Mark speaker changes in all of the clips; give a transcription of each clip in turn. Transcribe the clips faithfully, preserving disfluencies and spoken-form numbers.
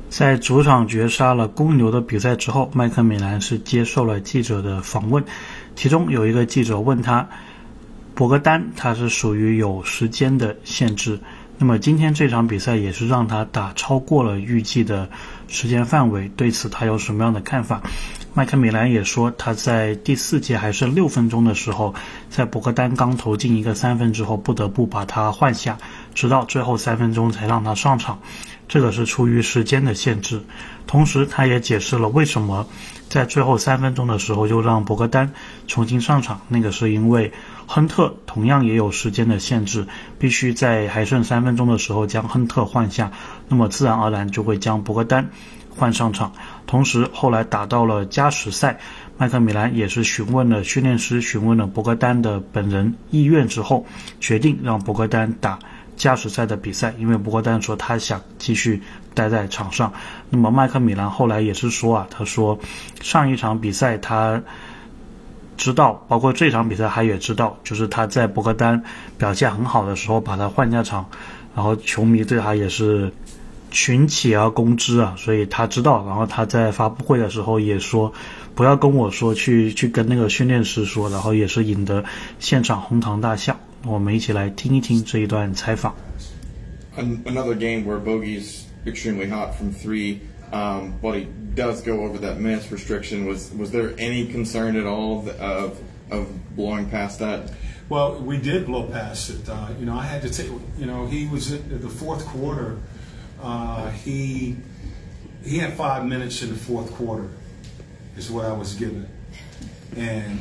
Speaker 1: 在主场绝杀了公牛的比赛之后，麦克米兰是接受了记者的访问，其中有一个记者问他，博格丹他是属于有时间的限制，那么今天这场比赛也是让他打超过了预计的时间范围，对此他有什么样的看法？麦克米兰也说，他在第四节还剩六分钟的时候，在博格丹刚投进一个三分之后，不得不把他换下，直到最后三分钟才让他上场，这个是出于时间的限制。同时他也解释了为什么在最后三分钟的时候就让博格丹重新上场，那个是因为亨特同样也有时间的限制，必须在还剩三分钟的时候将亨特换下，那么自然而然就会将博格丹换上场。同时后来打到了加时赛，麦克米兰也是询问了训练师，询问了博格丹的本人意愿之后，决定让博格丹打加时赛的比赛，因为博格丹说他想继续待在场上。那么麦克米兰后来也是说啊，他说上一场比赛他知道，包括这场比赛他也知道，就是他在博格丹表现很好的时候把他换下场，然后球迷对他也是群起而攻之啊，所以他知道。然后他在发布会的时候也说，不要跟我说，去去跟那个训练师说，然后也是引得现场哄堂大笑。我们一起来听一听这一段采访。
Speaker 2: Another game where Bogey's extremely hot from three, um, but he does go over that minutes restriction. Was was there any concern at all of of blowing past that?
Speaker 3: Well, we did blow past it. Uh, you know, I had to take. You know, he was at the fourth quarter. Uh, he he had five minutes in the fourth quarter, is what I was given, and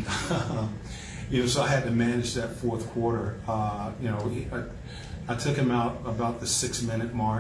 Speaker 3: you know, so I had to manage that fourth quarter. Uh, you know, he, I, I took him out about the six-minute mark,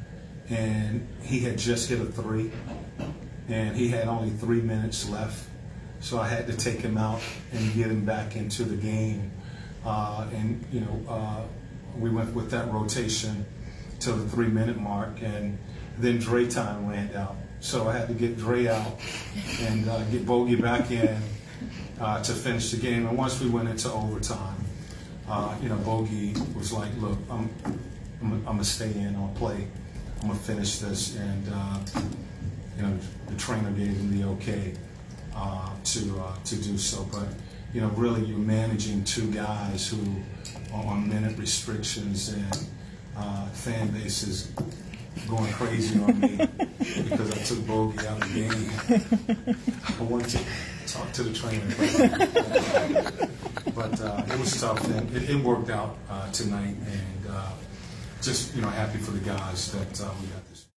Speaker 3: and he had just hit a three, and he had only three minutes left, so I had to take him out and get him back into the game. Uh, and you know, uh, we went with that rotation till the three-minute mark, and then Dre time ran out, so I had to get Dre out and uh, get Bogey back in uh, to finish the game. And once we went into overtime, Uh, you know, Bogey was like, look, I'm, I'm, I'm going to stay in, I'm going to play, I'm going to finish this. And, uh, you know, the trainer gave him the okay uh, to, uh, to do so. But, you know, really you're managing two guys who are on minute restrictions, and uh, fan base is going crazy on me because I took Bogey out of the game. I wanted to talk to the trainer. But uh, it was tough, and it, it worked out uh, tonight, and uh, just, you know, happy for the guys that uh, we got this.